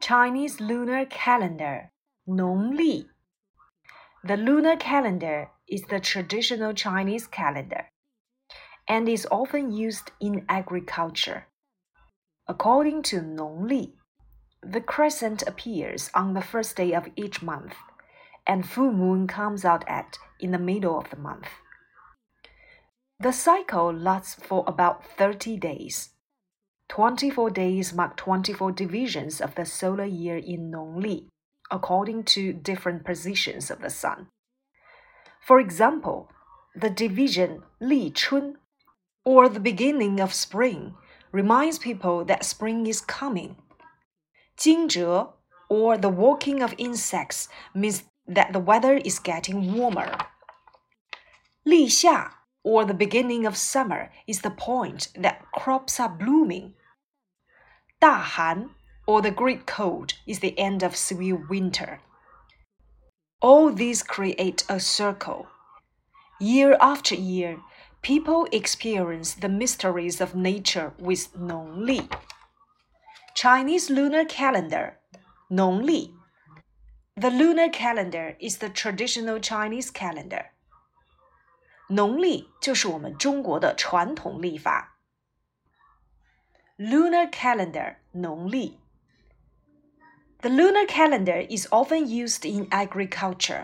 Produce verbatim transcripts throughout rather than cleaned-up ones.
Chinese lunar calendar, 农历. The lunar calendar is the traditional Chinese calendar and is often used in agriculture. According to 农历, the crescent appears on the first day of each month, and full moon comes out at in the middle of the month. The cycle lasts for about thirty days. twenty-four days mark twenty-four divisions of the solar year in 农历, according to different positions of the sun. For example, the division 立春, or the beginning of spring, reminds people that spring is coming. 惊蛰, or the walking of insects, means that the weather is getting warmer. 立夏, or the beginning of summer, is the point that crops are blooming. 大寒, or the great cold, is the end of severe winter. All these create a circle. Year after year, people experience the mysteries of nature with 农历. Chinese lunar calendar, 农历. The lunar calendar is the traditional Chinese calendar. 农历就是我们中国的传统历法。Lunar calendar, 农历. The lunar calendar is often used in agriculture.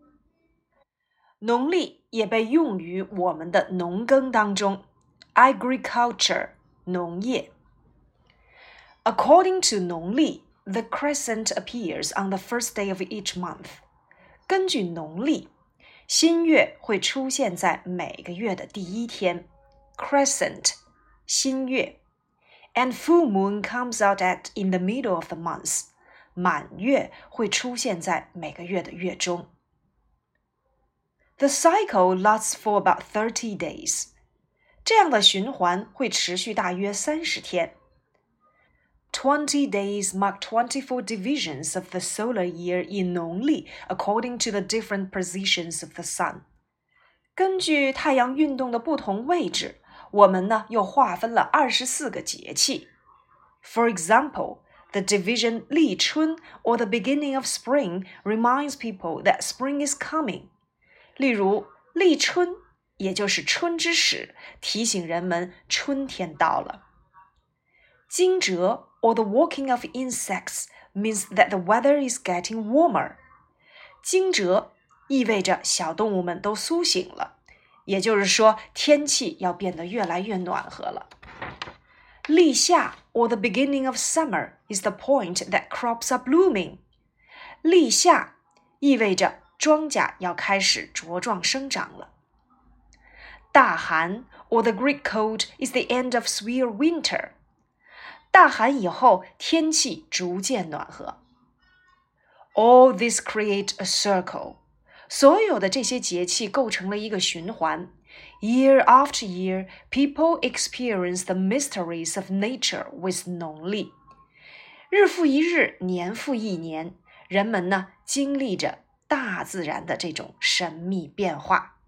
农历也被用于我们的农耕当中。Agriculture, 农业。According to 农历, the crescent appears on the first day of each month. 根据农历，新月会出现在每个月的第一天。Crescent, 新月。And full moon comes out at in the middle of the month. 满月会出现在每个月的月中。The cycle lasts for about thirty days. 这样的循环会持续大约三十天。Twenty days mark twenty-four divisions of the solar year in 农历 according to the different positions of the sun. 根据太阳运动的不同位置，我们呢又划分了二十四个节气。For example, the division 立春 or the beginning of spring reminds people that spring is coming. 例如，立春也就是春之始，提醒人们春天到了。惊蛰 or the walking of insects means that the weather is getting warmer. 惊蛰意味着小动物们都苏醒了，也就是说天气要变得越来越暖和了。立夏 or the beginning of summer is the point that crops are blooming. 立夏意味着庄稼要开始茁壮生长了。大寒 or the great cold is the end of severe winter. 大寒以后，天气逐渐暖和。All this create a circle. 所有的这些节气构成了一个循环。Year after year, people experience the mysteries of nature with 农历。日复一日，年复一年，人们呢经历着大自然的这种神秘变化。